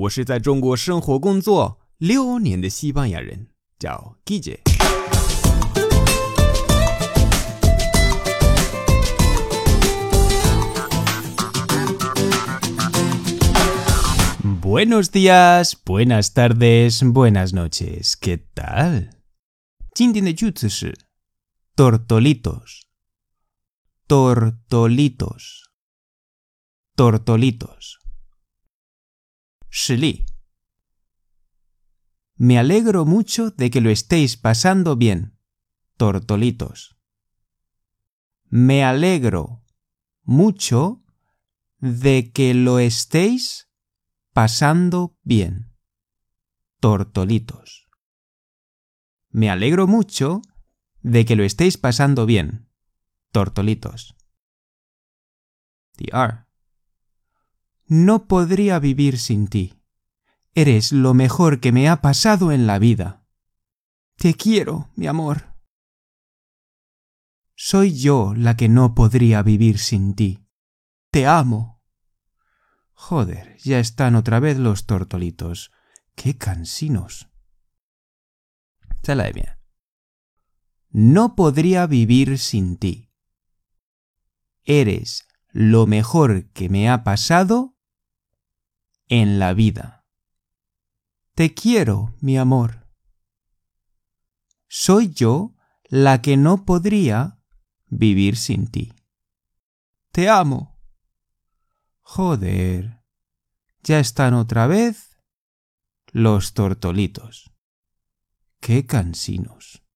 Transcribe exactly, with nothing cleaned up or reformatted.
我是在中国生活工作六年的西班牙人，叫 Guille。Buenos días, buenas tardes, buenas noches. ¿Qué tal? 今天的句子是 tortolitos, tortolitos, tortolitos. 实例 Me alegro mucho de que lo estéis pasando bien, tortolitos. Me alegro mucho de que lo estéis pasando bien, tortolitos. Me alegro mucho de que lo estéis pasando bien, tortolitos. The R. No podría vivir sin ti. Eres lo mejor que me ha pasado en la vida. Te quiero, mi amor. Soy yo la que no podría vivir sin ti. Te amo. Joder, ya están otra vez los tortolitos. ¡Qué cansinos! Chala bien. No podría vivir sin ti. Eres lo mejor que me ha pasado en la vida. Te quiero, mi amor. Soy yo la que no podría vivir sin ti. Te amo. Joder, ya están otra vez los tortolitos. ¡Qué cansinos!